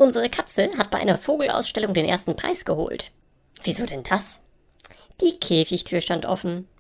Unsere Katze hat bei einer Vogelausstellung den ersten Preis geholt. Wieso denn das? Die Käfigtür stand offen.